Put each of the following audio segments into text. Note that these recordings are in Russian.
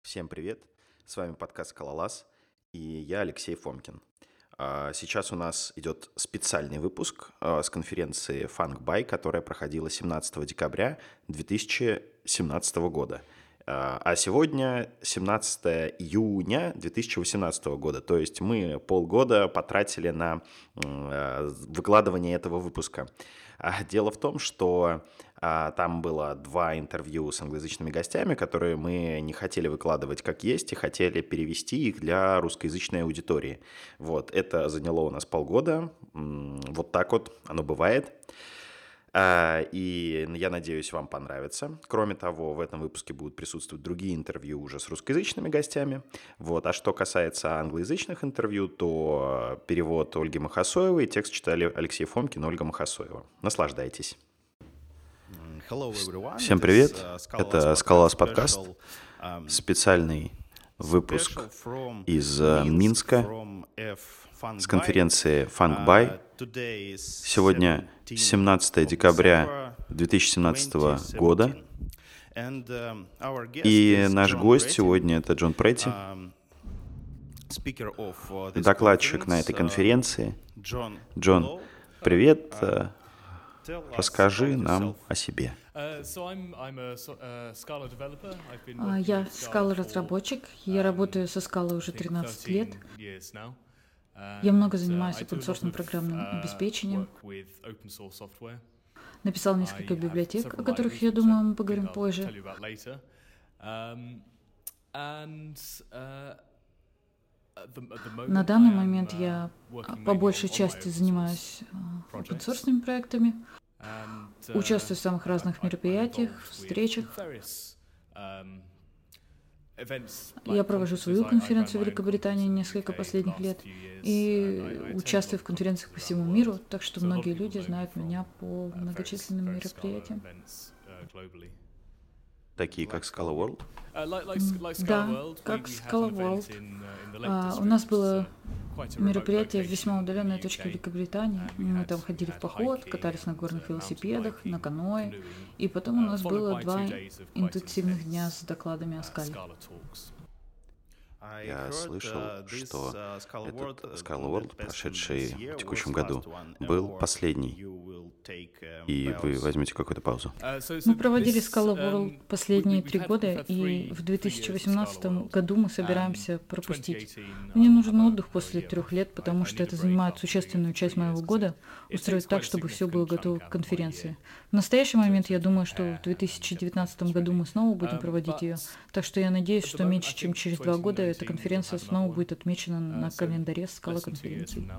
Всем привет! С вами подкаст «Скалолаз» и я Алексей Фомкин. Сейчас у нас идет специальный выпуск с конференции FunkBuy, которая проходила 17 декабря 2017 года. А сегодня 17 июня 2018 года, то есть мы полгода потратили на выкладывание этого выпуска. Дело в том, что там было 2 интервью с англоязычными гостями, которые мы не хотели выкладывать как есть и хотели перевести их для русскоязычной аудитории. Вот, это заняло у нас полгода. Вот так вот оно бывает. И я надеюсь, вам понравится. Кроме того, в этом выпуске будут присутствовать другие интервью уже с русскоязычными гостями. Вот. А что касается англоязычных интервью, то перевод Ольги Махасоевой, текст читали Алексей Фомкин и Ольга Махасоева. Наслаждайтесь. Всем привет, это «Скалолаз» подкаст, специальный выпуск из Минска с конференции FunkBuy. Сегодня 17 декабря 2017 года, и наш гость сегодня — это Джон Претти, докладчик на этой конференции. Джон, привет. Расскажи нам о себе. Я Scala-разработчик, я работаю со Scala уже 13 лет. Я много занимаюсь open-source программным обеспечением. Написал несколько библиотек, о которых, я думаю, мы поговорим позже. На данный момент я по большей части занимаюсь open-source проектами. Участвую в самых разных мероприятиях, встречах. Я провожу свою конференцию в Великобритании несколько последних лет и участвую в конференциях по всему миру, так что многие люди знают меня по многочисленным мероприятиям. Такие как Scala World? Да, как Scala World. У нас было мероприятие в весьма удаленной точке Великобритании. Мы там ходили в поход, катались на горных велосипедах, на каноэ. И потом у нас было 2 интенсивных дня с докладами о скале. Я слышал, что этот Scala World, прошедший в текущем году, был последний, и вы возьмете какую-то паузу. Мы проводили Scala World последние 3 года, и в 2018 году мы собираемся пропустить. Мне нужен отдых после 3 лет, потому что это занимает существенную часть моего года, устроить так, чтобы все было готово к конференции. В настоящий момент я думаю, что в 2019 году мы снова будем проводить ее, так что я надеюсь, что меньше чем через 2 года эта конференция снова будет отмечена на календаре Scala конференций.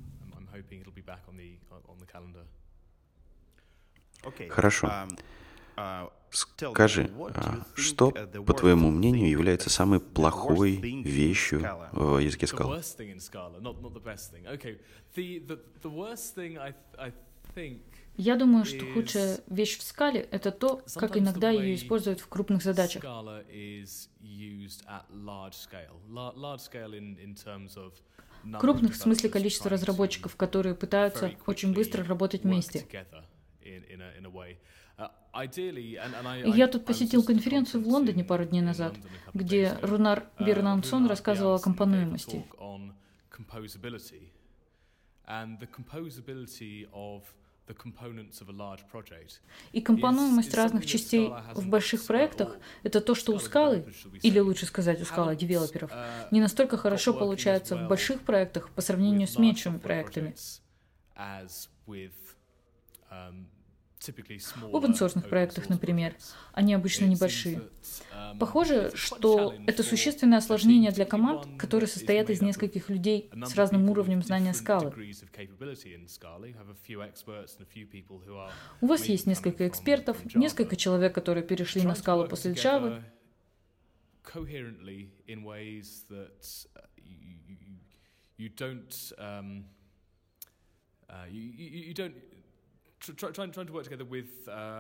Хорошо. Скажи, что, по твоему мнению, является самой плохой вещью в языке Scala? Я думаю, что худшая вещь в скале — это то, как иногда ее используют в крупных задачах. Крупных в смысле количества разработчиков, которые пытаются очень быстро работать вместе. Я тут посетил конференцию в Лондоне пару дней назад, где Рунар Бернансон рассказывал о компонуемости. И компонуемость разных частей в больших проектах — это то, что у скалы, или лучше сказать, у скала девелоперов, не настолько хорошо получается в больших проектах по сравнению с меньшими проектами. В open-source проектах, например, они обычно небольшие. Похоже, что это существенное осложнение для команд, которые состоят из нескольких людей с разным уровнем знания скалы. У вас есть несколько экспертов, несколько человек, которые перешли на скалу после Java. Trying to work together with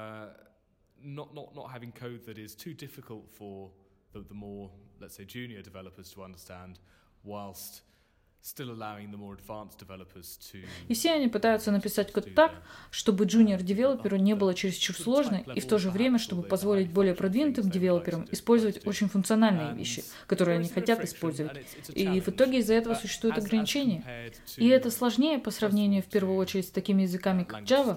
not having code that is too difficult for the more, let's say, junior developers to understand, whilst И все они пытаются написать код так, чтобы джуниор-девелоперу не было чересчур сложно, и в то же время, чтобы позволить более продвинутым девелоперам использовать очень функциональные вещи, которые они хотят использовать. И в итоге из-за этого существуют ограничения. И это сложнее по сравнению, в первую очередь, с такими языками, как Java.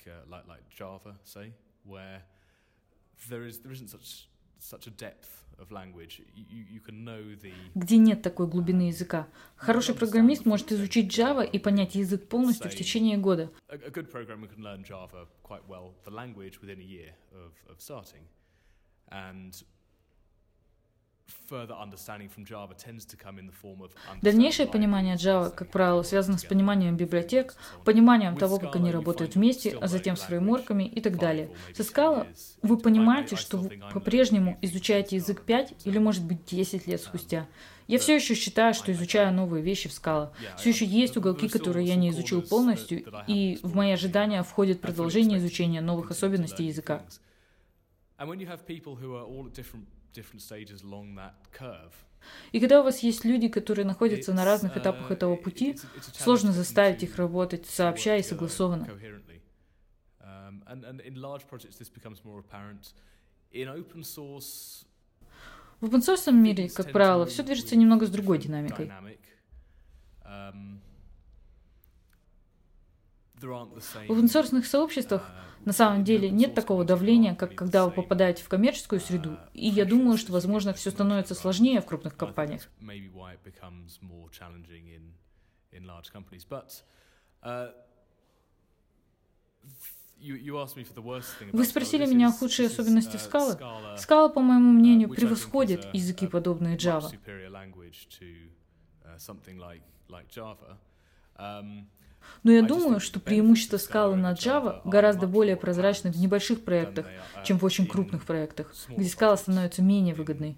Где нет такой глубины языка. Хороший программист может изучить Java и понять язык полностью в течение года. Дальнейшее понимание Java, как правило, связано с пониманием библиотек, пониманием того, как они работают вместе, а затем с фреймворками и так далее. Со Scala вы понимаете, что вы по-прежнему изучаете язык 5 или, может быть, 10 лет спустя. Я все еще считаю, что изучаю новые вещи в Scala. Все еще есть уголки, которые я не изучил полностью, и в мои ожидания входит продолжение изучения новых особенностей языка. И когда у вас есть люди, которые находятся на разных этапах этого пути, сложно заставить их работать сообща и согласованно. В open-source мире, как правило, все движется немного с другой динамикой. В open-source сообществах на самом деле нет такого давления, как когда вы попадаете в коммерческую среду, и я думаю, что, возможно, все становится сложнее в крупных компаниях. Вы спросили меня о худшей особенности Scala. Scala, по моему мнению, превосходит языки, подобные Java. Но я думаю, что преимущество Scala над Java гораздо более прозрачны в небольших проектах, чем в очень крупных проектах, где Scala становится менее выгодной.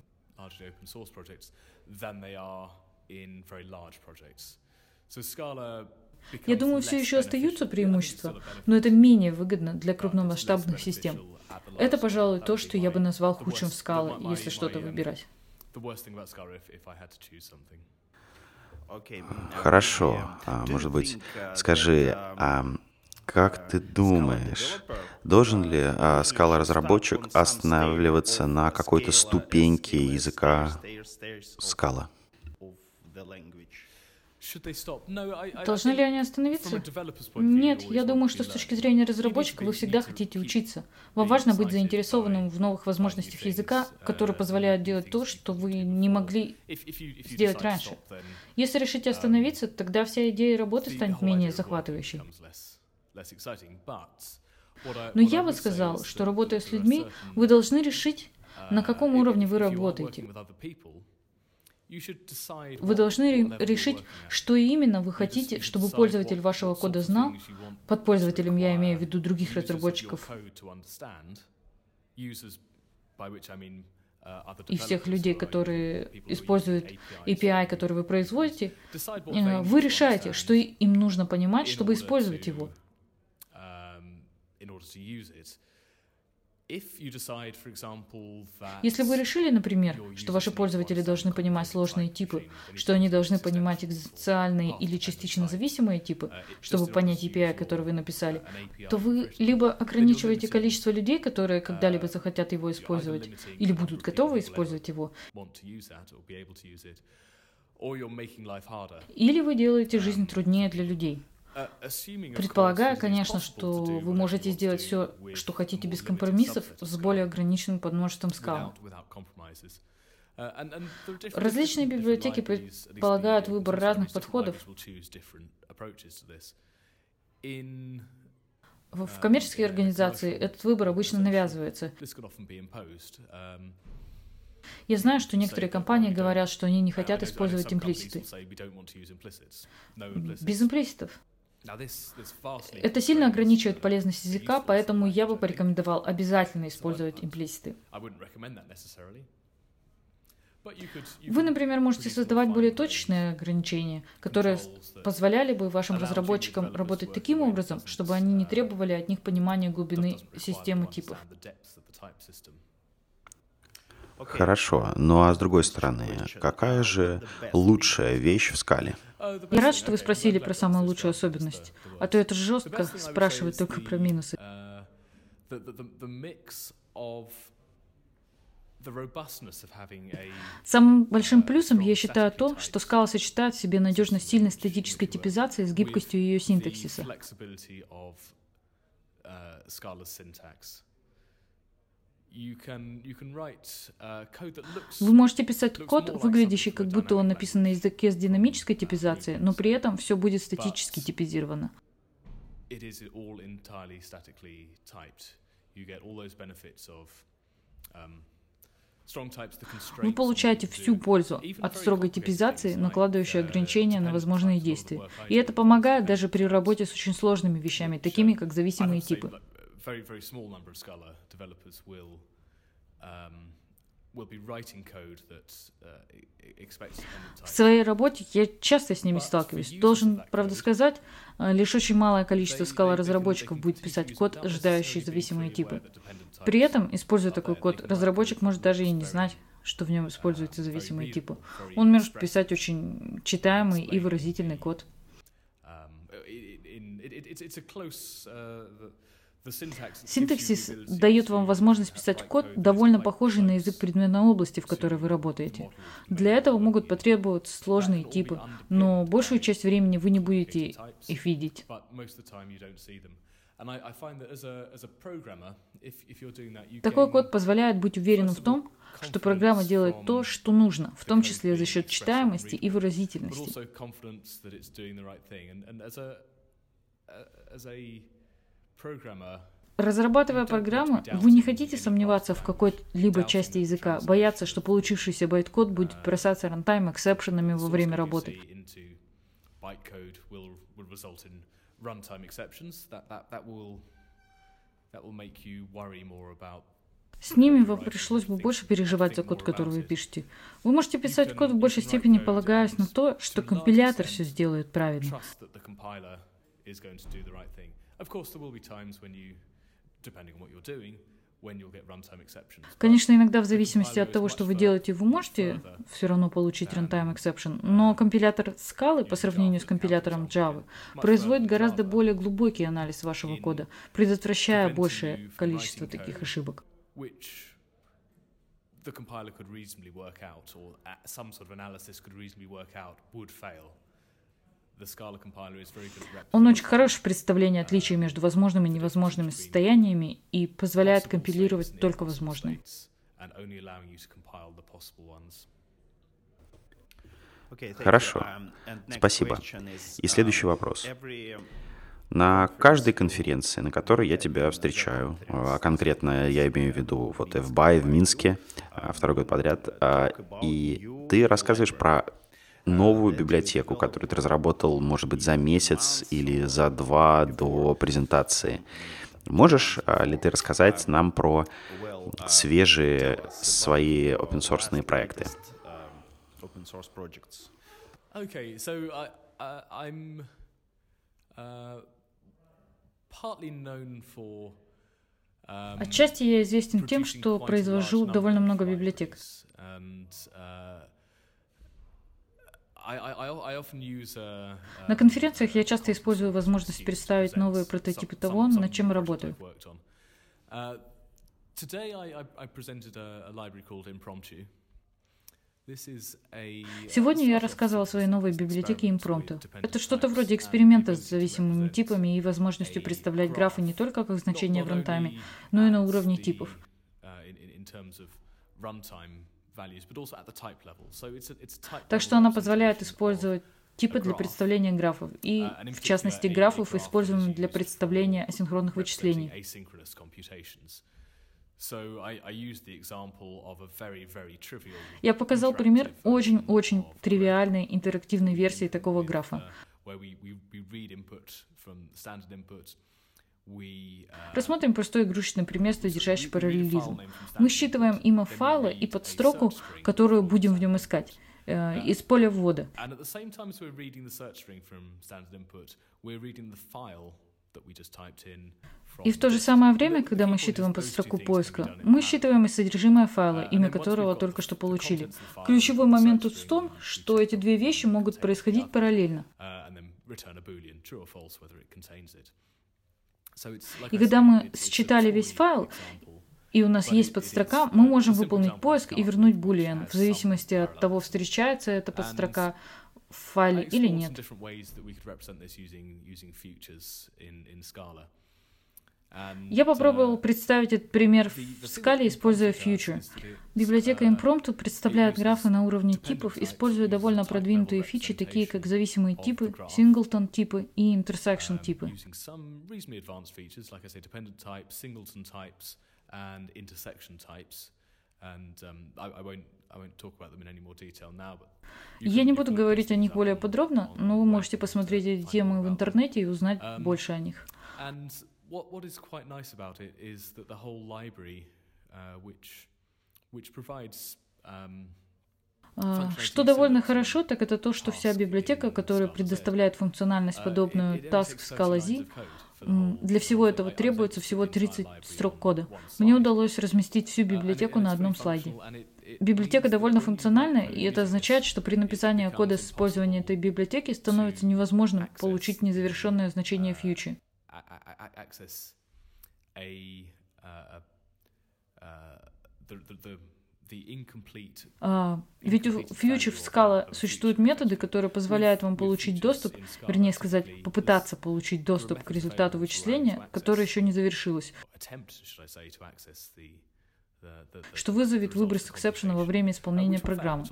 Я думаю, все еще остаются преимущества, но это менее выгодно для крупномасштабных систем. Это, пожалуй, то, что я бы назвал худшим в Scala, если что-то выбирать. Хорошо. Может быть, скажи, как ты думаешь, должен ли Scala-разработчик останавливаться на какой-то ступеньке языка Scala? Должны ли они остановиться? Нет, я думаю, что с точки зрения разработчика вы всегда хотите учиться. Вам важно быть заинтересованным в новых возможностях языка, которые позволяют делать то, что вы не могли сделать раньше. Если решите остановиться, тогда вся идея работы станет менее захватывающей. Но я бы сказал, что работая с людьми, вы должны решить, на каком уровне вы работаете. Вы должны решить, что именно вы хотите, чтобы пользователь вашего кода знал. Под пользователем я имею в виду других разработчиков и всех людей, которые используют API, который вы производите. Вы решаете, что им нужно понимать, чтобы использовать его. Если вы решили, например, что ваши пользователи должны понимать сложные типы, что они должны понимать экзистенциальные или частично зависимые типы, чтобы понять API, который вы написали, то вы либо ограничиваете количество людей, которые когда-либо захотят его использовать, или будут готовы использовать его, или вы делаете жизнь труднее для людей. Предполагая, конечно, что вы можете сделать все, что хотите без компромиссов, с более ограниченным подмножеством Scala. Различные библиотеки предполагают выбор разных подходов. В коммерческой организации этот выбор обычно навязывается. Я знаю, что некоторые компании говорят, что они не хотят использовать имплиситы. Без имплиситов. Это сильно ограничивает полезность языка, поэтому я бы порекомендовал обязательно использовать имплиситы. Вы, например, можете создавать более точечные ограничения, которые позволяли бы вашим разработчикам работать таким образом, чтобы они не требовали от них понимания глубины системы типов. Хорошо, ну а с другой стороны, какая же лучшая вещь в скале? Я рад, что вы спросили про самую лучшую особенность, а то это жестко спрашивать только про минусы. Самым большим плюсом я считаю то, что Scala сочетает в себе надежность сильной статической типизации с гибкостью ее синтаксиса. Вы можете писать код, выглядящий как будто он написан на языке с динамической типизацией, но при этом все будет статически типизировано. Вы получаете всю пользу от строгой типизации, накладывающей ограничения на возможные действия. И это помогает даже при работе с очень сложными вещами, такими как зависимые типы. В своей работе я часто с ними сталкиваюсь. Должен, правда сказать, лишь очень малое количество Scala-разработчиков будет писать код, ожидающий зависимые типы. При этом, используя такой код, разработчик может даже и не знать, что в нем используются зависимые типы. Он может писать очень читаемый и выразительный код. Синтаксис дает вам возможность писать код, довольно похожий на язык предметной области, в которой вы работаете. Для этого могут потребоваться сложные типы, но большую часть времени вы не будете их видеть. Такой код позволяет быть уверенным в том, что программа делает то, что нужно, в том числе за счет читаемости и выразительности. Разрабатывая программы, вы не хотите сомневаться в какой-либо части языка, бояться, что получившийся байт-код будет бросаться рантайм-эксепшенами во время работы. С ними вам пришлось бы больше переживать за код, который вы пишете. Вы можете писать код в большей степени, полагаясь на то, что компилятор все сделает правильно. Конечно, иногда в зависимости от того, что вы делаете, вы можете все равно получить runtime exception, но компилятор Scala по сравнению с компилятором Java производит гораздо более глубокий анализ вашего кода, предотвращая большее количество таких ошибок. Он очень хорош в представлении отличий между возможными и невозможными состояниями и позволяет компилировать только возможные. Хорошо, спасибо. И следующий вопрос. На каждой конференции, на которой я тебя встречаю, а конкретно я имею в виду вот FBAI в Минске, второй год подряд, и ты рассказываешь про новую библиотеку, которую ты разработал, может быть, за месяц или за 2 до презентации. Можешь ли ты рассказать нам про свежие свои open-source проекты? Отчасти я известен тем, что произвожу довольно много библиотек. На конференциях я часто использую возможность представить новые прототипы того, над чем работаю. Сегодня я рассказывал о своей новой библиотеке Impromptu. Это что-то вроде эксперимента с зависимыми типами и возможностью представлять графы не только как значения в рантайме, но и на уровне типов. Так что она позволяет использовать типы для представления графов, и, в частности, графов, используемых для представления асинхронных вычислений. Я показал пример очень-очень тривиальной интерактивной версии такого графа. Рассмотрим простой игрушечный пример, содержащий параллелизм. Мы считываем имя файла и подстроку, которую будем в нем искать, из поля ввода. И в то же самое время, когда мы считываем под строку поиска, мы считываем и содержимое файла, имя которого только что получили. Ключевой момент тут в том, что эти две вещи могут происходить параллельно. И когда мы считали весь файл, и у нас есть подстрока, мы можем выполнить поиск и вернуть boolean, в зависимости от того, встречается эта подстрока в файле или нет. Я попробовал представить этот пример в скале, используя future. Библиотека Impromptu представляет графы на уровне типов, используя довольно продвинутые фичи, такие как зависимые типы, singleton типы и intersection типы. Я не буду говорить о них более подробно, но вы можете посмотреть эти темы в интернете и узнать больше о них. What is quite nice about it is that the whole library, which provides Что довольно хорошо, так это то, что вся библиотека, которая предоставляет функциональность, подобную Task Scala Z, для всего этого требуется всего 30 строк кода. Мне удалось разместить всю библиотеку на одном слайде. Библиотека довольно функциональна, и это означает, что при написании кода с использованием этой библиотеки становится невозможным получить незавершенное значение future. Ведь у Future в Scala существуют методы, которые позволяют вам получить доступ, вернее сказать, попытаться получить доступ к результату вычисления, которое еще не завершилось, что вызовет выброс эксепшена во время исполнения программы.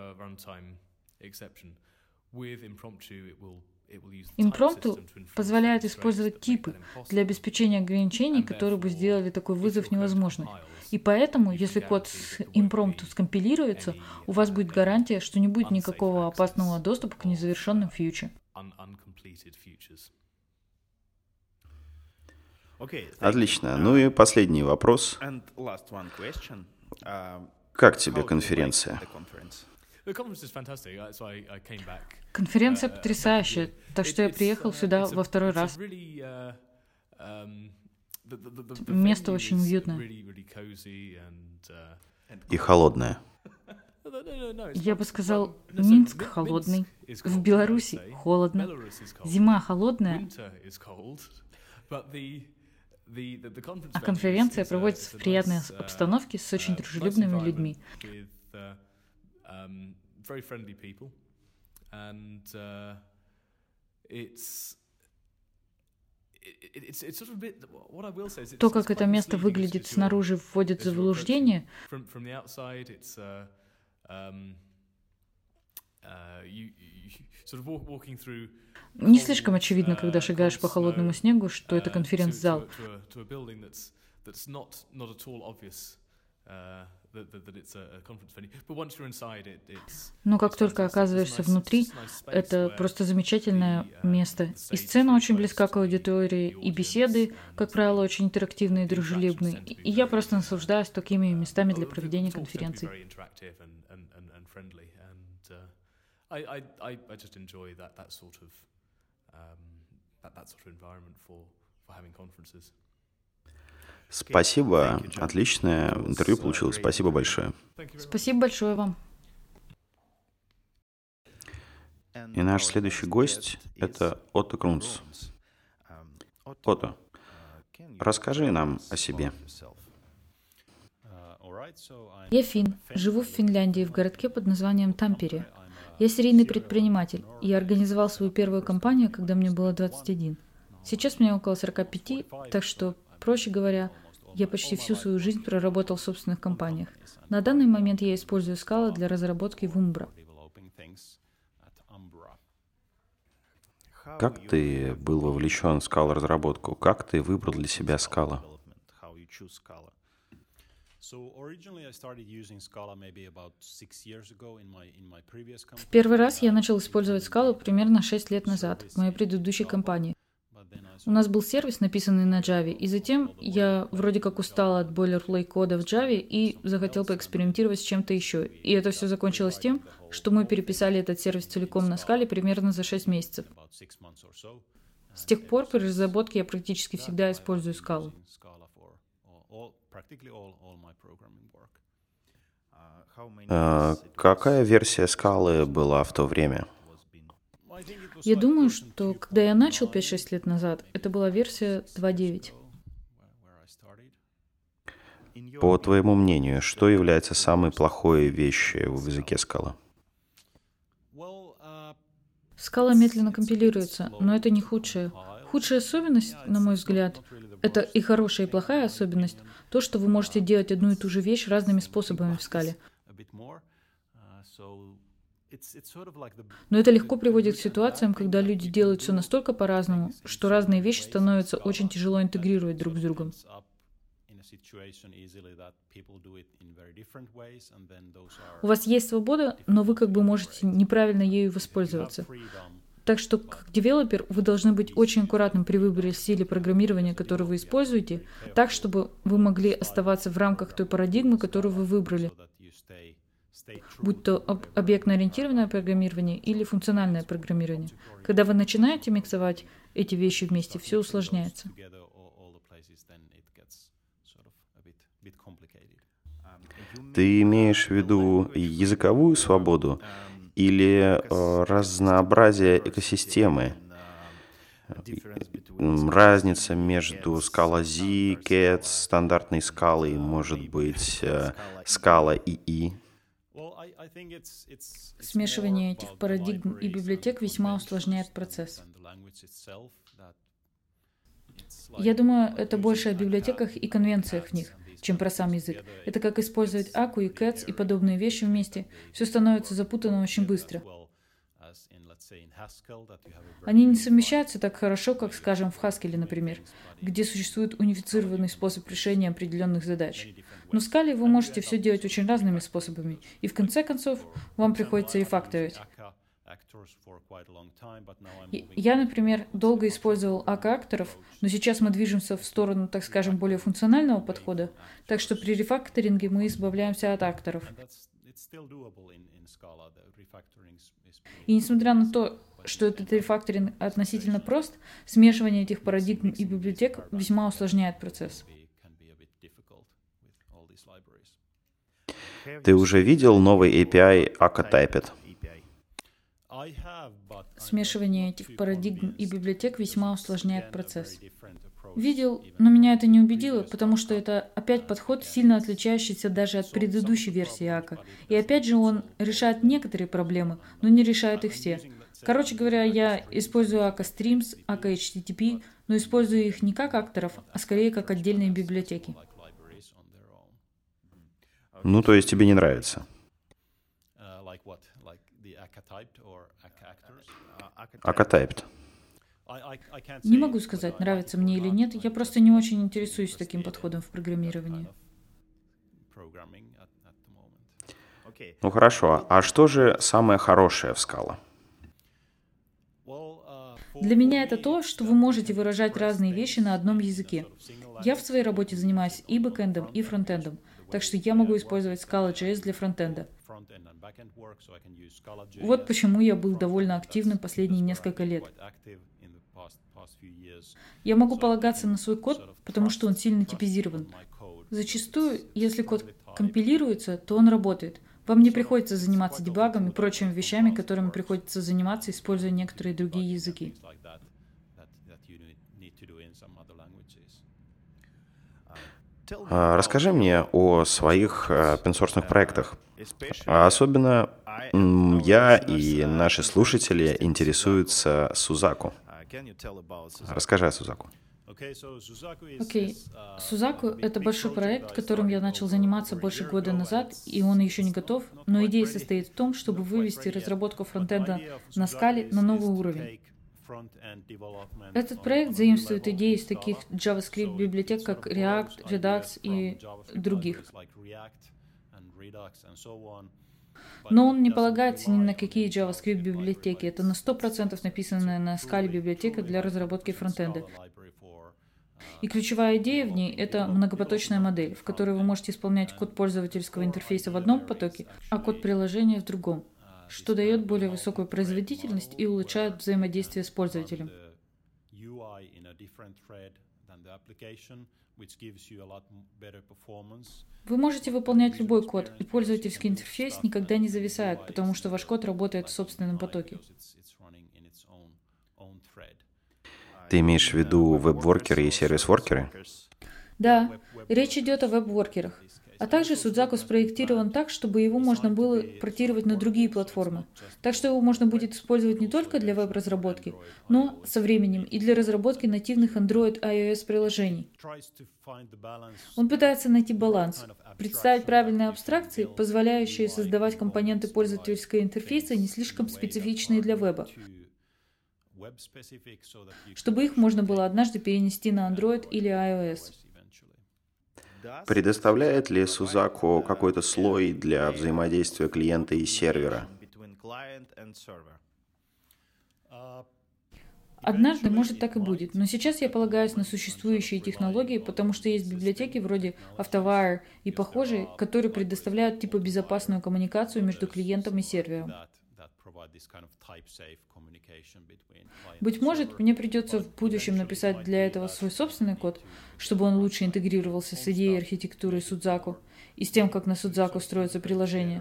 Impromptu позволяет использовать типы для обеспечения ограничений, которые бы сделали такой вызов невозможным. И поэтому, если код с Impromptu скомпилируется, у вас будет гарантия, что не будет никакого опасного доступа к незавершенным фьюче. Отлично. Ну и последний вопрос. Как тебе конференция? Конференция потрясающая, так что я приехал сюда во второй раз. Место очень уютное. И холодное. Я бы сказал, Минск холодный, в Беларуси холодно, зима холодная, а конференция проводится в приятной обстановке с очень дружелюбными людьми. То, как это место выглядит снаружи, вводит в заблуждение. Не слишком очевидно, когда шагаешь по холодному снегу, что это конференц-зал. Но как только оказываешься внутри, это просто замечательное место. И сцена очень близка к аудитории, и беседы, как правило, очень интерактивные и дружелюбные. И я просто наслаждаюсь такими местами для проведения конференций. Спасибо. Отличное интервью получилось. Спасибо большое. Спасибо большое вам. И наш следующий гость — это Отто Крунц. Отто, расскажи нам о себе. Я финн, живу в Финляндии, в городке под названием Тампере. Я серийный предприниматель. Я организовал свою первую компанию, когда мне было 21. Сейчас мне около 45, так что, проще говоря, я почти всю свою жизнь проработал в собственных компаниях. На данный момент я использую Scala для разработки в Umbra. Как ты был вовлечен в Scala-разработку? Как ты выбрал для себя Scala? В первый раз я начал использовать Scala примерно 6 лет назад, в моей предыдущей компании. У нас был сервис, написанный на Java, и затем я вроде как устала от boilerplate кода в Java и захотел поэкспериментировать с чем-то еще. И это все закончилось тем, что мы переписали этот сервис целиком на Scala примерно за 6 месяцев. С тех пор при разработке я практически всегда использую скалу. Какая версия скалы была в то время? Я думаю, что когда я начал 5-6 лет назад, это была версия 2.9. По твоему мнению, что является самой плохой вещью в языке скала? Скала медленно компилируется, но это не худшая. Худшая особенность, на мой взгляд, это и хорошая, и плохая особенность, то, что вы можете делать одну и ту же вещь разными способами в скале. Но это легко приводит к ситуациям, когда люди делают все настолько по-разному, что разные вещи становятся очень тяжело интегрировать друг с другом. У вас есть свобода, но вы как бы можете неправильно ею воспользоваться. Так что, как девелопер, вы должны быть очень аккуратным при выборе стиля программирования, который вы используете, так, чтобы вы могли оставаться в рамках той парадигмы, которую вы выбрали, будь то объектно-ориентированное программирование или функциональное программирование. Когда вы начинаете миксовать эти вещи вместе, все усложняется. Ты имеешь в виду языковую свободу или разнообразие экосистемы? Разница между скала Z, Cats, стандартной скалой, может быть, скала ИИ. Смешивание этих парадигм и библиотек весьма усложняет процесс. Я думаю, это больше о библиотеках и конвенциях в них, чем про сам язык. Это как использовать Aku и Cats и подобные вещи вместе. Все становится запутанно очень быстро. Они не совмещаются так хорошо, как, скажем, в Haskell, например, где существует унифицированный способ решения определенных задач. Но в скале вы можете все делать очень разными способами, и в конце концов вам приходится рефакторить. Я, например, долго использовал AK-акторов, но сейчас мы движемся в сторону, так скажем, более функционального подхода, так что при рефакторинге мы избавляемся от акторов. И несмотря на то, что этот рефакторинг относительно прост, смешивание этих парадигм и библиотек весьма усложняет процесс. Ты уже видел новый API AkaTyped? Смешивание этих парадигм и библиотек весьма усложняет процесс. Видел, но меня это не убедило, потому что это опять подход, сильно отличающийся даже от предыдущей версии Ака. И опять же он решает некоторые проблемы, но не решает их все. Короче говоря, я использую Akka Streams, Akka HTTP, но использую их не как акторов, а скорее как отдельные библиотеки. Ну, то есть тебе не нравится? AkaTyped. Не могу сказать, нравится мне или нет, я просто не очень интересуюсь таким подходом в программировании. Ну хорошо, а что же самое хорошее в Scala? Для меня это то, что вы можете выражать разные вещи на одном языке. Я в своей работе занимаюсь и бэкэндом, и фронтендом, так что я могу использовать Scala.js для фронтенда. Вот почему я был довольно активным последние несколько лет. Я могу полагаться на свой код, потому что он сильно типизирован. Зачастую, если код компилируется, то он работает. Вам не приходится заниматься дебагом и прочими вещами, которыми приходится заниматься, используя некоторые другие языки. Расскажи мне о своих open-source проектах. Особенно я и наши слушатели интересуются Suzaku. Расскажи о Suzaku. Окей. Suzaku — это большой проект, которым я начал заниматься больше года назад, и он еще не готов, но идея состоит в том, чтобы вывести разработку фронтенда на скале на новый уровень. Этот проект заимствует идеи из таких JavaScript-библиотек, как React, Redux и других. Но он не полагается ни на какие JavaScript-библиотеки. Это на 100% написанная на скале библиотека для разработки фронтенда. И ключевая идея в ней — это многопоточная модель, в которой вы можете исполнять код пользовательского интерфейса в одном потоке, а код приложения в другом, что дает более высокую производительность и улучшает взаимодействие с пользователем. Вы можете выполнять любой код, и пользовательский интерфейс никогда не зависает, потому что ваш код работает в собственном потоке. Ты имеешь в виду веб-воркеры и сервис-воркеры? Да, речь идет о веб-воркерах. А также Судзаку спроектирован так, чтобы его можно было портировать на другие платформы. Так что его можно будет использовать не только для веб-разработки, но со временем и для разработки нативных Android и iOS приложений. Он пытается найти баланс, представить правильные абстракции, позволяющие создавать компоненты пользовательского интерфейса не слишком специфичные для веба, чтобы их можно было однажды перенести на Android или iOS. Предоставляет ли Судзаку какой-то слой для взаимодействия клиента и сервера? Однажды, может, так и будет, но сейчас я полагаюсь на существующие технологии, потому что есть библиотеки вроде Автовайр и похожие, которые предоставляют типа безопасную коммуникацию между клиентом и сервером. Быть может, мне придется в будущем написать для этого свой собственный код, чтобы он лучше интегрировался с идеей архитектуры Судзаку и с тем, как на Судзаку строятся приложения.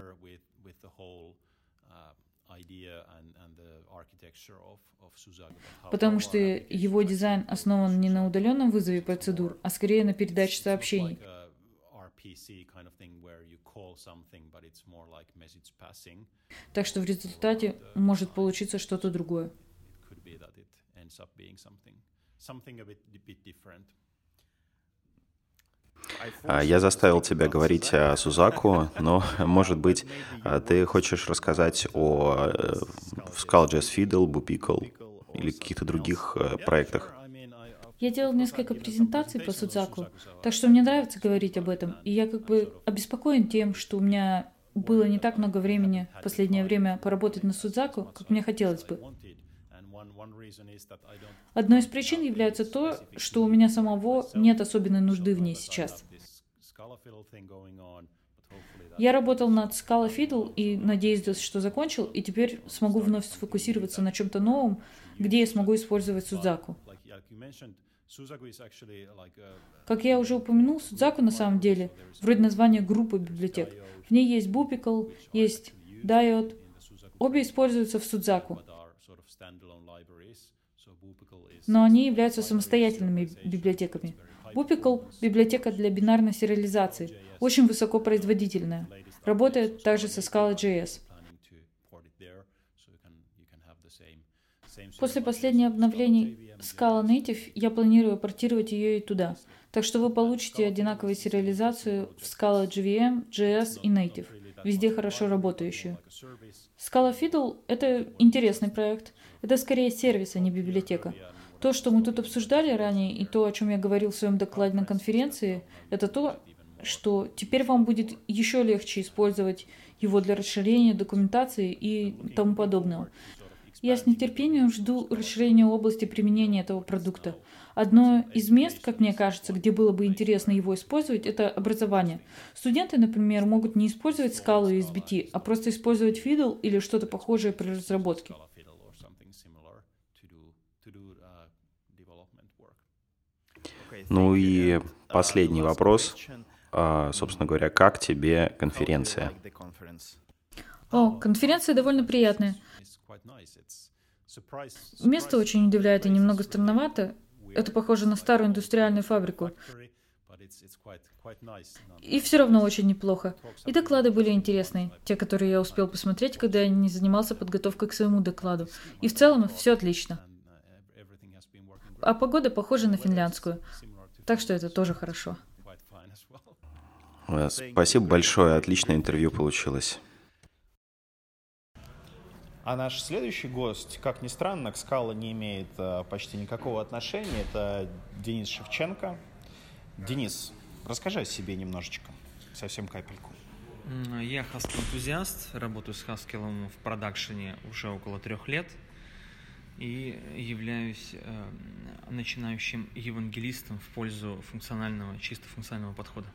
Потому что его дизайн основан не на удаленном вызове процедур, а скорее на передаче сообщений. Так что в результате может получиться что-то другое. Я заставил тебя говорить о Судзаку, но, может быть, ты хочешь рассказать о Scala.js Fiddle, Bupickle или каких-то других проектах? Я делал несколько презентаций по Судзаку, так что мне нравится говорить об этом, и я как бы обеспокоен тем, что у меня было не так много времени в последнее время поработать на Судзаку, как мне хотелось бы. Одной из причин является то, что у меня самого нет особенной нужды в ней сейчас. Я работал над Scala Fiddle и надеюсь, что закончил, и теперь смогу вновь сфокусироваться на чем-то новом, где я смогу использовать Судзаку. Как я уже упомянул, Судзаку на самом деле вроде названия группы библиотек. В ней есть Bupickle, есть Diode. Обе используются в Судзаку, но они являются самостоятельными библиотеками. Bupickle — библиотека для бинарной сериализации, очень высокопроизводительная. Работает также со Scala.js. После последних обновлений Scala Native я планирую портировать ее и туда. Так что вы получите одинаковую сериализацию в Scala JVM, JS и Native, везде хорошо работающую. Scala Fiddle — это интересный проект. Это скорее сервис, а не библиотека. То, что мы тут обсуждали ранее, и то, о чем я говорил в своем докладе на конференции, это то, что теперь вам будет еще легче использовать его для расширения документации и тому подобного. Я с нетерпением жду расширения области применения этого продукта. Одно из мест, как мне кажется, где было бы интересно его использовать, это образование. Студенты, например, могут не использовать Scala и SBT, а просто использовать Fiddle или что-то похожее при разработке. Ну и последний вопрос. Собственно говоря, как тебе конференция? Конференция довольно приятная. Место очень удивляет и немного странновато. Это похоже на старую индустриальную фабрику. И все равно очень неплохо. И доклады были интересные, те, которые я успел посмотреть, когда я не занимался подготовкой к своему докладу. И в целом все отлично. А погода похожа на финляндскую. Так что это тоже хорошо. Спасибо большое, отличное интервью получилось. А наш следующий гость, как ни странно, к Scala не имеет почти никакого отношения. Это Денис Шевченко. Денис, расскажи о себе немножечко, совсем капельку. Я Haskell-энтузиаст, работаю с Haskell в продакшене уже около 3 лет и являюсь начинающим евангелистом в пользу чисто функционального подхода.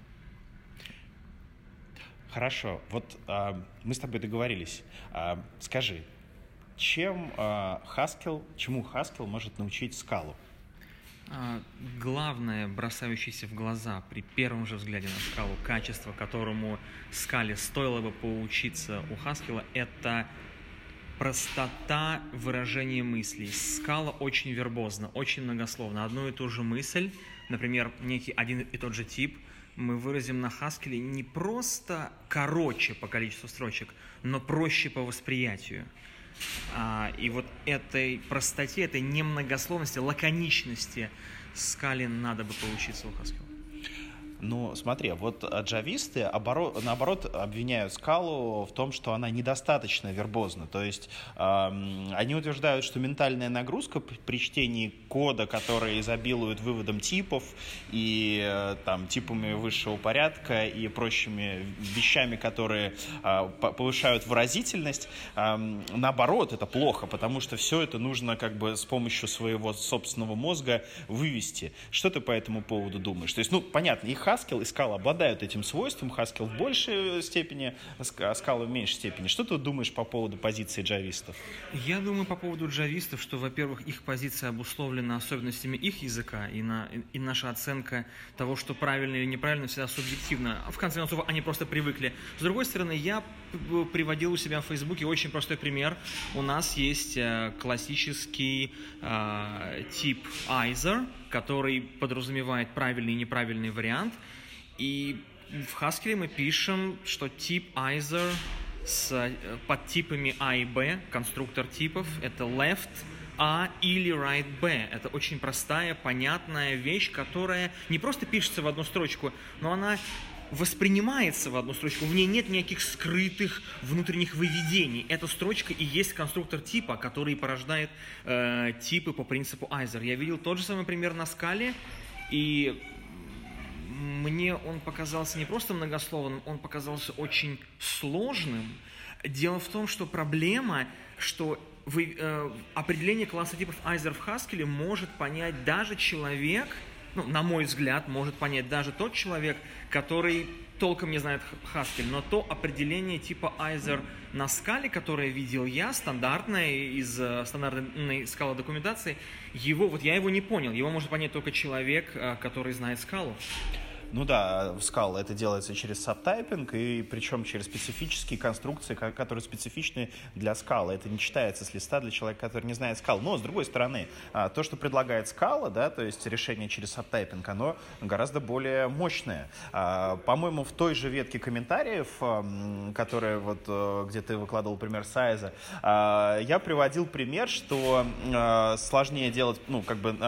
Хорошо, вот мы с тобой договорились. Скажи, чему Haskell может научить Scala? Главное, бросающееся в глаза при первом же взгляде на скалу, качество, которому скале стоило бы поучиться у Хаскела, это простота выражения мыслей. Скала очень вербозна, очень многословна. Одну и ту же мысль, например, некий один и тот же тип, мы выразим на Хаскеле не просто короче по количеству строчек, но проще по восприятию. И вот этой простоте, этой немногословности, лаконичности скале надо бы поучиться у Хаскела. Ну, смотри, вот джависты, наоборот, обвиняют скалу в том, что она недостаточно вербозна. То есть они утверждают, что ментальная нагрузка при чтении кода, который изобилует выводом типов и там, типами высшего порядка и прочими вещами, которые повышают выразительность, наоборот, это плохо, потому что все это нужно как бы с помощью своего собственного мозга вывести. Что ты по этому поводу думаешь? То есть, ну, понятно, и Haskell и Scala обладают этим свойством, Haskell в большей степени, а Scala в меньшей степени. Что ты думаешь по поводу позиции джавистов? Я думаю по поводу джавистов, что, во-первых, их позиция обусловлена особенностями их языка, и наша оценка того, что правильно или неправильно, всегда субъективна. В конце концов, они просто привыкли. С другой стороны, я приводил у себя в Фейсбуке очень простой пример. У нас есть классический тип either, который подразумевает правильный и неправильный вариант. И в Haskell мы пишем, что тип either с подтипами A и B, конструктор типов, это left A или right B. Это очень простая, понятная вещь, которая не просто пишется в одну строчку, но она воспринимается в одну строчку, в ней нет никаких скрытых внутренних выведений. Эта строчка и есть конструктор типа, который порождает типы по принципу either. Я видел тот же самый пример на скале, и мне он показался не просто многословным, он показался очень сложным. Дело в том, что проблема, что определение класса типов either в Haskell может понять даже человек, ну, на мой взгляд, может понять даже тот человек, который толком не знает Haskell, но то определение типа either на скале, которое видел я, стандартное, из стандартной скала документации, я его не понял. Его может понять только человек, который знает скалу. Ну да, в Scala это делается через сабтайпинг, и причем через специфические конструкции, которые специфичны для Scala. Это не читается с листа для человека, который не знает Scala. Но, с другой стороны, то, что предлагает Scala, да, то есть решение через сабтайпинг, оно гораздо более мощное. По-моему, в той же ветке комментариев, которая вот, где ты выкладывал пример Сайза, я приводил пример, что сложнее делать, ну, как бы...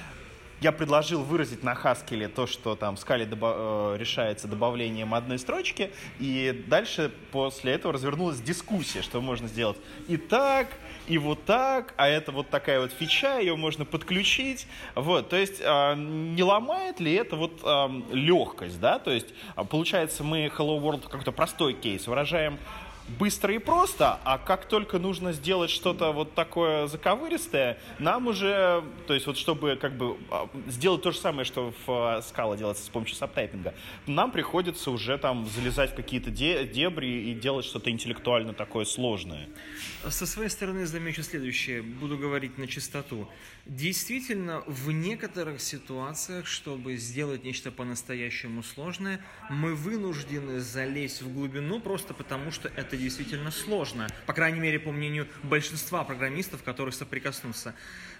Я предложил выразить на Haskell то, что там в скале решается добавлением одной строчки, и дальше после этого развернулась дискуссия, что можно сделать и так, и вот так, а это вот такая вот фича, ее можно подключить. Вот, то есть не ломает ли это вот легкость, да? То есть получается мы Hello World какой-то простой кейс выражаем быстро и просто, а как только нужно сделать что-то вот такое заковыристое, нам уже, то есть вот чтобы как бы сделать то же самое, что в Scala делается с помощью сабтайпинга, нам приходится уже там залезать в какие-то дебри и делать что-то интеллектуально такое сложное. Со своей стороны замечу следующее, буду говорить на чистоту. Действительно, в некоторых ситуациях, чтобы сделать нечто по-настоящему сложное, мы вынуждены залезть в глубину просто потому, что это действительно сложно. По крайней мере, по мнению большинства программистов, которые соприкоснутся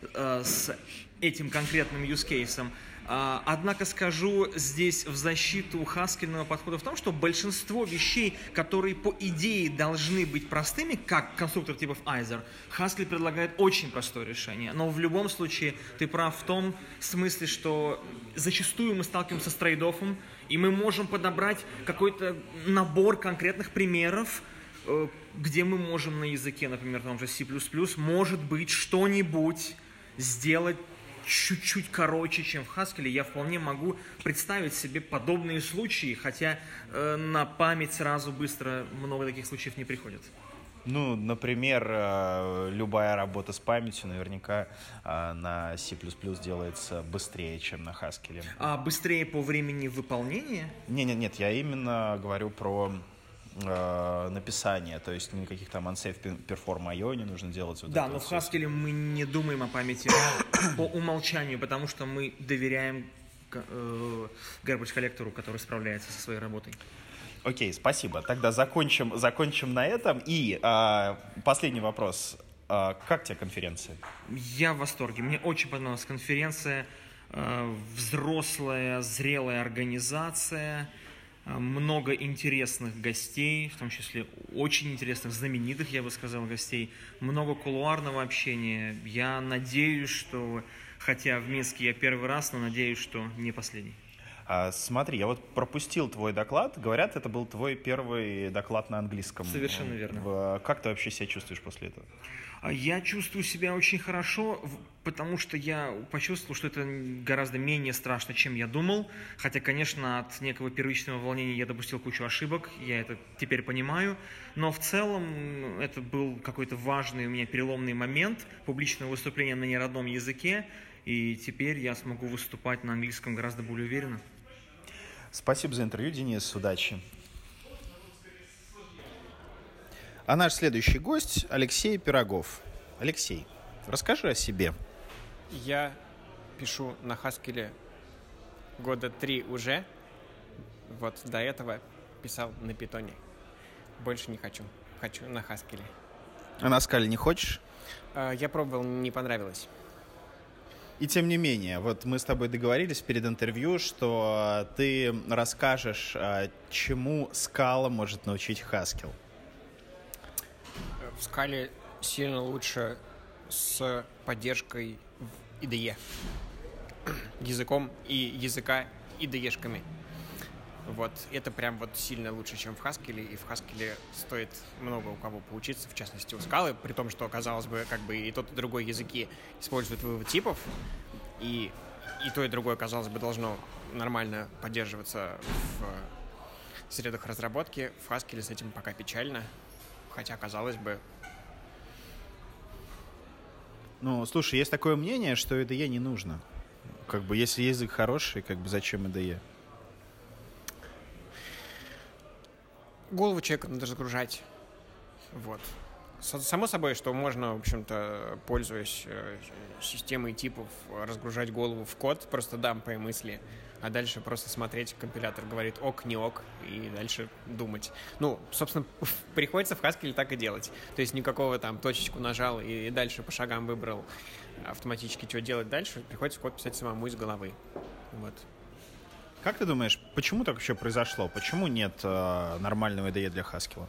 с этим конкретным use-кейсом. Однако скажу здесь в защиту хаскельного подхода в том, что большинство вещей, которые по идее должны быть простыми, как конструктор типов either, Haskell предлагает очень простое решение. Но в любом случае ты прав в том смысле, что зачастую мы сталкиваемся с трейд-оффом, и мы можем подобрать какой-то набор конкретных примеров, где мы можем на языке, например, том же C++, может быть, что-нибудь сделать чуть-чуть короче, чем в Haskell. Я вполне могу представить себе подобные случаи, хотя на память сразу быстро много таких случаев не приходит. Ну, например, любая работа с памятью наверняка на C++ делается быстрее, чем на Haskell. А быстрее по времени выполнения? Нет, я именно говорю про написания, то есть никаких там unsafe perform IO не нужно делать. Вот да, но в Haskell мы не думаем о памяти по умолчанию, потому что мы доверяем garbage коллектору, который справляется со своей работой. Окей, спасибо. Тогда закончим на этом. И последний вопрос. Как тебе конференция? Я в восторге. Мне очень понравилась конференция. Взрослая, зрелая организация. Много интересных гостей, в том числе очень интересных, знаменитых, я бы сказал, гостей. Много кулуарного общения. Я надеюсь, что, хотя в Минске я первый раз, но надеюсь, что не последний. Смотри, я вот пропустил твой доклад. Говорят, это был твой первый доклад на английском. Совершенно верно. Как ты вообще себя чувствуешь после этого? Я чувствую себя очень хорошо, потому что я почувствовал, что это гораздо менее страшно, чем я думал. Хотя, конечно, от некого первичного волнения я допустил кучу ошибок, я это теперь понимаю. Но в целом это был какой-то важный у меня переломный момент, публичное выступление на неродном языке. И теперь я смогу выступать на английском гораздо более уверенно. Спасибо за интервью, Денис. Удачи. А наш следующий гость Алексей Пирогов. Алексей, расскажи о себе. Я пишу на Haskell года 3 уже. Вот до этого писал на Python. Больше не хочу. Хочу на Haskell. А на Scala не хочешь? Я пробовал, не понравилось. И тем не менее, вот мы с тобой договорились перед интервью, что ты расскажешь, чему Scala может научить Haskell. В Scala сильно лучше с поддержкой в IDE. Языком и языка IDE-шками. Вот, это прям вот сильно лучше, чем в Haskell, и в Haskell стоит много у кого поучиться, в частности у Scala, при том, что, казалось бы, как бы и тот, и другой языки используют вывод типов, и то, и другое, казалось бы, должно нормально поддерживаться в средах разработки. В Haskell с этим пока печально, хотя, казалось бы... Ну, слушай, есть такое мнение, что IDE не нужно. Как бы, если язык хороший, как бы, зачем IDE? Голову человека надо разгружать. Вот. Само собой, что можно, в общем-то, пользуясь системой типов, разгружать голову в код, просто дампая мысли, а дальше просто смотреть, компилятор говорит ок, не ок, и дальше думать. Ну, собственно, приходится в Haskell так и делать. То есть никакого там точечку нажал и дальше по шагам выбрал автоматически, что делать дальше, приходится код писать самому из головы. Вот. Как ты думаешь, почему так вообще произошло? Почему нет нормального IDE для Haskell?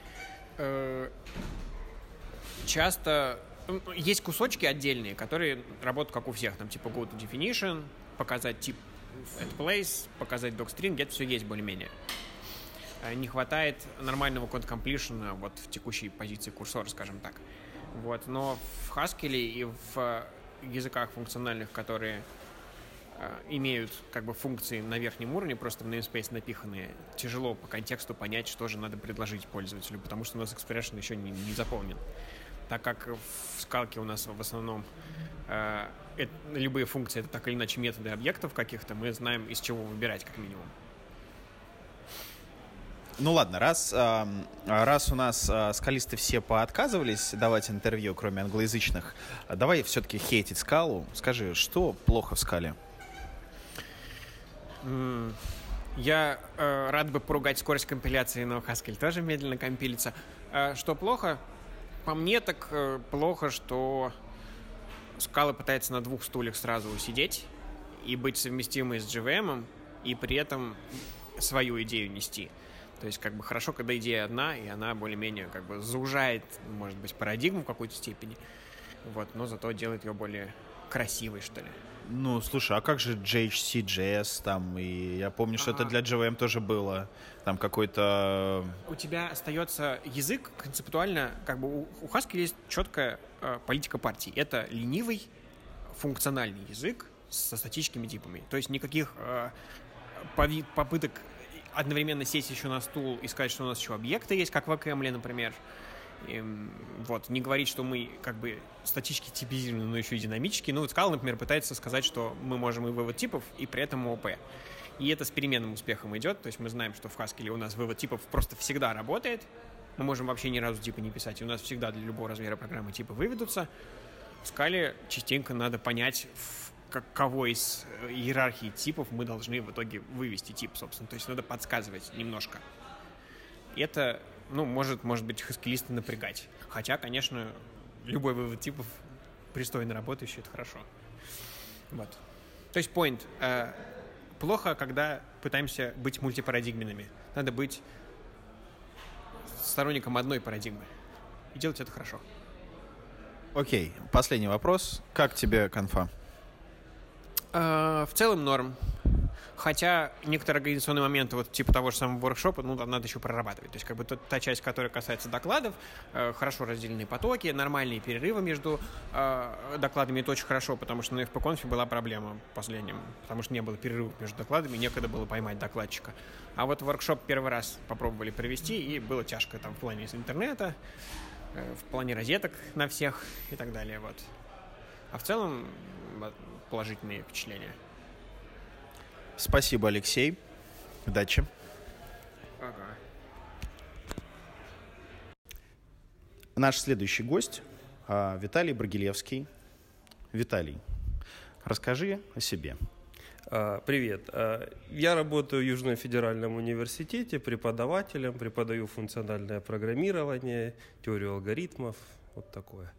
Часто есть кусочки отдельные, которые работают как у всех. Там типа go to definition, показать тип at place, показать docstring, где-то все есть более-менее. Не хватает нормального code completion вот в текущей позиции курсора, скажем так. Вот. Но в Haskell и в языках функциональных, которые имеют как бы функции на верхнем уровне, просто в namespace напиханные, тяжело по контексту понять, что же надо предложить пользователю, потому что у нас expression еще не заполнен. Так как в скалке у нас в основном любые функции — это так или иначе методы объектов каких-то, мы знаем, из чего выбирать как минимум. Ну ладно, раз у нас скалисты все поотказывались давать интервью, кроме англоязычных, давай все-таки хейтить скалу. Скажи, что плохо в скале? Я рад бы поругать скорость компиляции, но Haskell тоже медленно компилится. Что плохо? По мне так плохо, что Scala пытается на двух стульях сразу усидеть и быть совместимой с JVM, и при этом свою идею нести. То есть как бы хорошо, когда идея одна, и она более-менее как бы заужает, может быть, парадигму в какой-то степени, вот, но зато делает ее более красивой, что ли. Ну, слушай, а как же JHC.js там? И я помню, что это для JVM тоже было. Там какой-то... У тебя остается язык концептуально, как бы у Haskell есть четкая политика партии. Это ленивый функциональный язык со статическими типами. То есть никаких попыток одновременно сесть еще на стул и сказать, что у нас еще объекты есть, как в Caml, например. И, вот, не говорить, что мы как бы статически типизированы, но еще и динамически. Ну, вот Scala, например, пытается сказать, что мы можем и вывод типов, и при этом ООП. И это с переменным успехом идет. То есть мы знаем, что в Haskell у нас вывод типов просто всегда работает. Мы можем вообще ни разу типа не писать. И у нас всегда для любого размера программы типы выведутся. В Scala частенько надо понять, кого из иерархии типов мы должны в итоге вывести тип, собственно. То есть надо подсказывать немножко. Это, может быть, хаскелиста напрягать. Хотя, конечно, любой вывод типов пристойно работающий, это хорошо. Вот. То есть point. Плохо, когда пытаемся быть мультипарадигменными. Надо быть сторонником одной парадигмы. И делать это хорошо. Окей, последний вопрос. Как тебе конфа? В целом норм. Хотя некоторые организационные моменты, вот типа того же самого воркшопа, там надо еще прорабатывать. То есть как бы та часть, которая касается докладов, хорошо разделенные потоки, нормальные перерывы между докладами, это очень хорошо, потому что на FP-конфе была проблема последним, потому что не было перерывов между докладами, некогда было поймать докладчика. А вот воркшоп первый раз попробовали провести, и было тяжко там в плане интернета, в плане розеток на всех и так далее. Вот. А в целом положительные впечатления. Спасибо, Алексей. Удачи. Ага. Наш следующий гость Виталий Брагилевский. Виталий, расскажи о себе. Привет. Я работаю в Южном федеральном университете преподавателем, преподаю функциональное программирование, теорию алгоритмов, вот такое.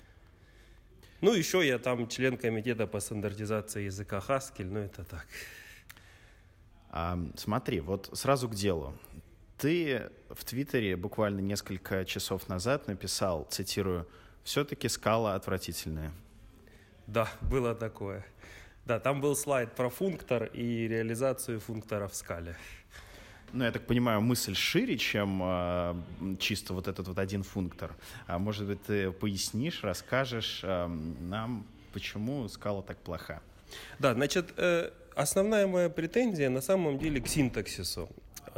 Еще я там член комитета по стандартизации языка Haskell, это так. Смотри, вот сразу к делу. Ты в Твиттере буквально несколько часов назад написал, цитирую, «Все-таки Scala отвратительная». Да, было такое. Да, там был слайд про функтор и реализацию функтора в Scala. Я так понимаю, мысль шире, чем чисто вот этот вот один функтор. Может быть, ты пояснишь, расскажешь нам, почему Scala так плоха? Да, значит, основная моя претензия на самом деле к синтаксису.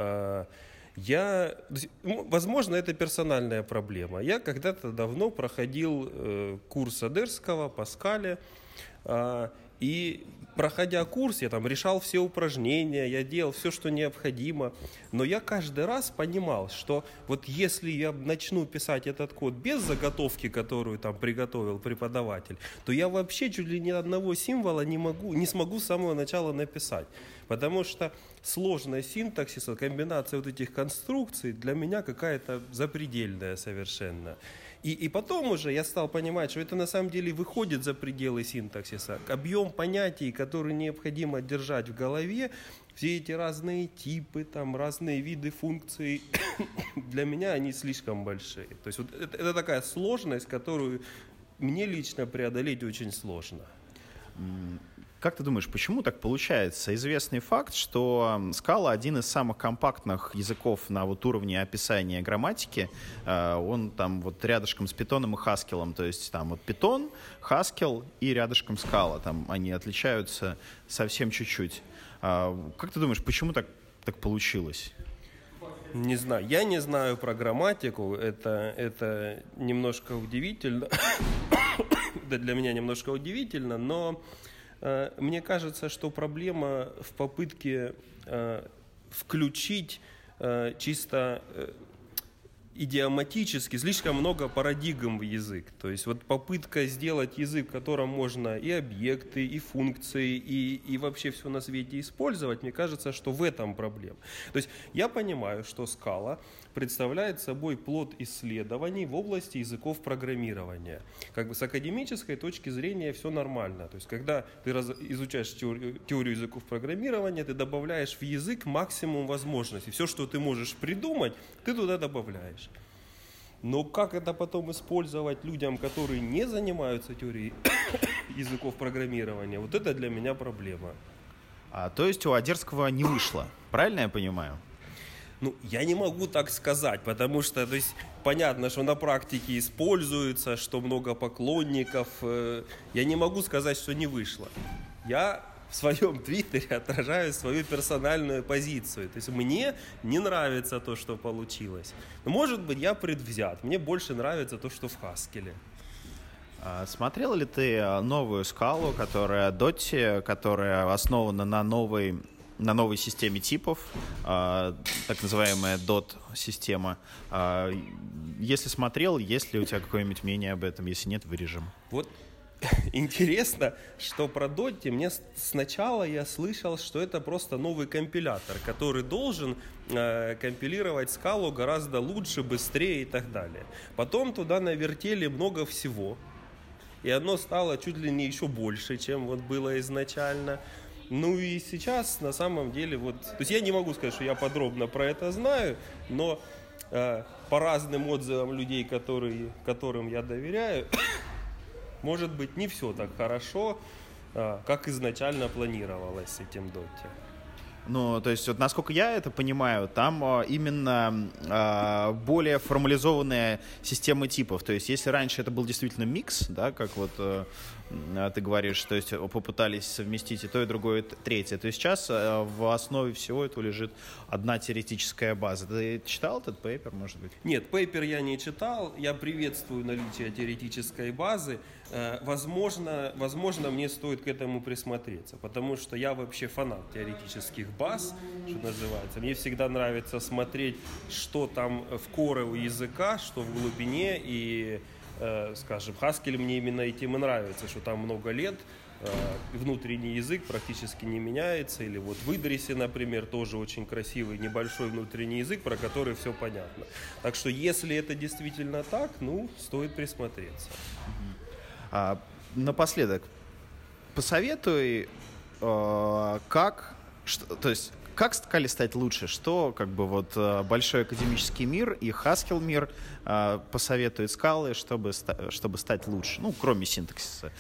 Возможно, это персональная проблема. Я когда-то давно проходил курс Одерского по Scala, и проходя курс, я там решал все упражнения, я делал все, что необходимо, но я каждый раз понимал, что вот если я начну писать этот код без заготовки, которую там приготовил преподаватель, то я вообще чуть ли ни одного символа не смогу с самого начала написать, потому что сложность синтаксиса, комбинация вот этих конструкций для меня какая-то запредельная совершенно. И потом уже я стал понимать, что это на самом деле выходит за пределы синтаксиса. Объем понятий, которые необходимо держать в голове, все эти разные типы, там, разные виды функций, для меня они слишком большие. То есть вот это такая сложность, которую мне лично преодолеть очень сложно. Как ты думаешь, почему так получается? Известный факт, что Scala один из самых компактных языков на вот уровне описания грамматики. Он там вот рядышком с Python и Haskell. То есть там вот Python, Haskell и рядышком Scala. Там они отличаются совсем чуть-чуть. Как ты думаешь, почему так получилось? Не знаю. Я не знаю про грамматику. Это немножко удивительно. Да, для меня немножко удивительно, но мне кажется, что проблема в попытке включить чисто идиоматически слишком много парадигм в язык. То есть вот попытка сделать язык, в котором можно и объекты, и функции, и вообще все на свете использовать, мне кажется, что в этом проблема. То есть я понимаю, что Scala представляет собой плод исследований в области языков программирования. Как бы с академической точки зрения все нормально. То есть когда ты изучаешь теорию языков программирования, ты добавляешь в язык максимум возможностей. Все, что ты можешь придумать, ты туда добавляешь. Но как это потом использовать людям, которые не занимаются теорией языков программирования, вот это для меня проблема. То есть у Одерского не вышло, правильно я понимаю? Я не могу так сказать, потому что, то есть, понятно, что на практике используется, что много поклонников. Я не могу сказать, что не вышло. Я в своем твиттере отражаю свою персональную позицию. То есть мне не нравится то, что получилось. Но, может быть, я предвзят. Мне больше нравится то, что в Haskell. Смотрел ли ты новую Scala, которая Dotty, которая основана на новой на новой системе типов, так называемая DOT-система. Если смотрел, есть ли у тебя какое-нибудь мнение об этом? Если нет, вырежем. Вот интересно, что про Dotty мне сначала я слышал, что это просто новый компилятор, который должен компилировать скалу гораздо лучше, быстрее и так далее. Потом туда навертели много всего, и оно стало чуть ли не еще больше, чем вот было изначально. Ну и сейчас на самом деле вот, то есть я не могу сказать, что я подробно про это знаю, но по разным отзывам людей, которым я доверяю, может быть, не все так хорошо, как изначально планировалось с этим Dotty. Ну, то есть, вот, насколько я это понимаю, там именно более формализованная система типов. То есть, если раньше это был действительно микс, да, как вот ты говоришь, то есть попытались совместить и то, и другое, и третье, то сейчас в основе всего этого лежит одна теоретическая база. Ты читал этот пейпер, может быть? Нет, пейпер я не читал. Я приветствую наличие теоретической базы. Возможно, мне стоит к этому присмотреться, потому что я вообще фанат теоретических баз, что называется. Мне всегда нравится смотреть, что там в коре у языка, что в глубине, и, скажем, Haskell мне именно этим и нравится, что там много лет, внутренний язык практически не меняется, или вот в Идрисе, например, тоже очень красивый небольшой внутренний язык, про который все понятно. Так что, если это действительно так, ну, стоит присмотреться. Напоследок, посоветуй, как Scala стать лучше, что как бы вот большой академический мир и Haskell мир посоветует Scala, чтобы стать лучше, ну, кроме синтаксиса.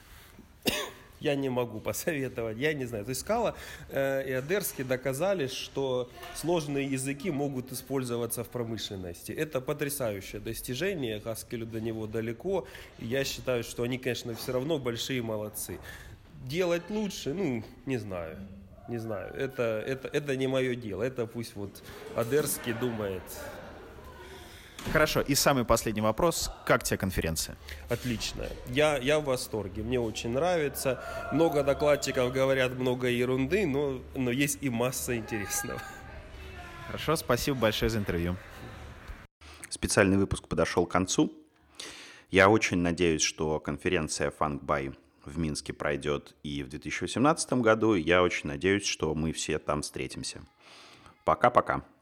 Я не могу посоветовать, я не знаю. То есть Scala и Одерский доказали, что сложные языки могут использоваться в промышленности. Это потрясающее достижение, Haskell до него далеко. И я считаю, что они, конечно, все равно большие молодцы. Делать лучше, ну, не знаю. Это не мое дело. Это пусть вот Одерский думает. Хорошо, и самый последний вопрос. Как тебе конференция? Отлично. Я в восторге. Мне очень нравится. Много докладчиков говорят много ерунды, но есть и масса интересного. Хорошо, спасибо большое за интервью. Специальный выпуск подошел к концу. Я очень надеюсь, что конференция FunkBuy в Минске пройдет и в 2018 году. Я очень надеюсь, что мы все там встретимся. Пока-пока.